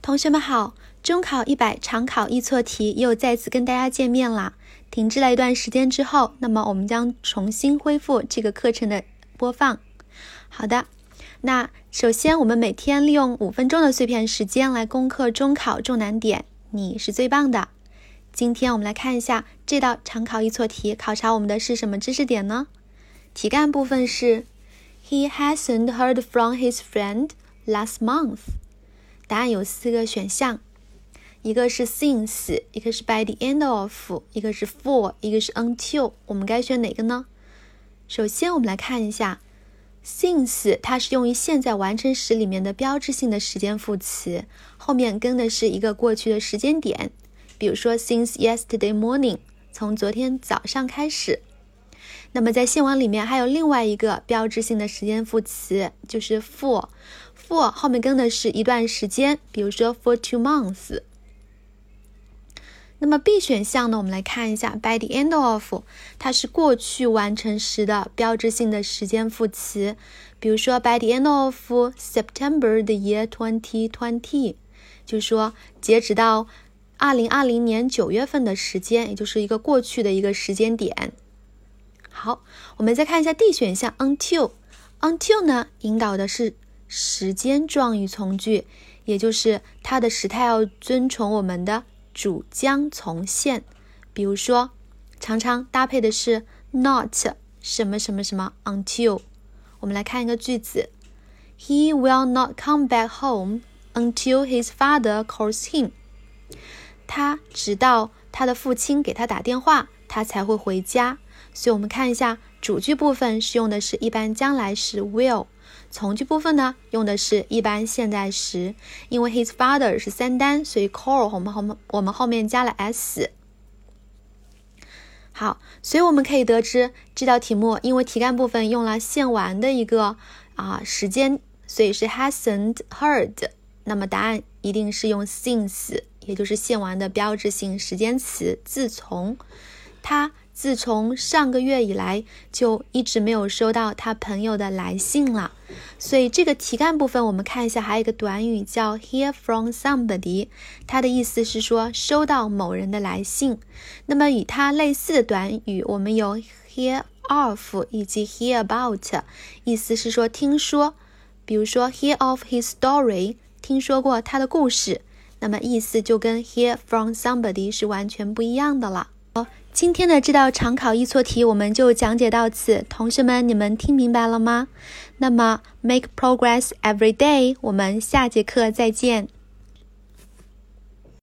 同学们好，中考100常考易错题又再次跟大家见面啦。停滞了一段时间之后，那么我们将重新恢复这个课程的播放。好的，那首先我们每天利用5分钟的碎片时间来攻克中考重难点，你是最棒的。今天我们来看一下这道常考易错题考察我们的是什么知识点呢？题干部分是 He hasn't heard from his friend last month。答案有4个选项，一个是 since， 一个是 by the end of， 一个是 for， 一个是 until， 我们该选哪个呢？首先我们来看一下 since， 它是用于现在完成时里面的标志性的时间副词，后面跟的是一个过去的时间点，比如说 since yesterday morning， 从昨天早上开始。那么在现文里面还有另外一个标志性的时间副词，就是 for 后面跟的是一段时间，比如说 for 2 months。 那么 B 选项呢，我们来看一下 by the end of， 它是过去完成时的标志性的时间副词，比如说 by the end of September the year 2020， 就是说截止到2020年9月份的时间，也就是一个过去的一个时间点。好，我们再看一下 D 选项 until 呢，引导的是时间状语从句，也就是它的时态要遵从我们的主将从现，比如说常常搭配的是 not 什么什么什么 until。 我们来看一个句子 He will not come back home until his father calls him。 他直到他的父亲给他打电话，他才会回家。所以我们看一下主句部分是用的是一般将来时 will， 从句部分呢用的是一般现在时，因为 his father 是3单，所以 call 我们后面加了 s。 好，所以我们可以得知这道题目因为题干部分用了现完的一个时间，所以是 hasn't heard， 那么答案一定是用 since， 也就是现完的标志性时间词自从。他自从上个月以来就一直没有收到他朋友的来信了，所以这个题干部分我们看一下，还有一个短语叫 hear from somebody， 它的意思是说收到某人的来信。那么与它类似的短语我们有 hear of 以及 hear about， 意思是说听说，比如说 hear of his story， 听说过他的故事，那么意思就跟 hear from somebody 是完全不一样的了。今天的这道常考易错题我们就讲解到此，同学们你们听明白了吗？那么 make progress every day， 我们下节课再见。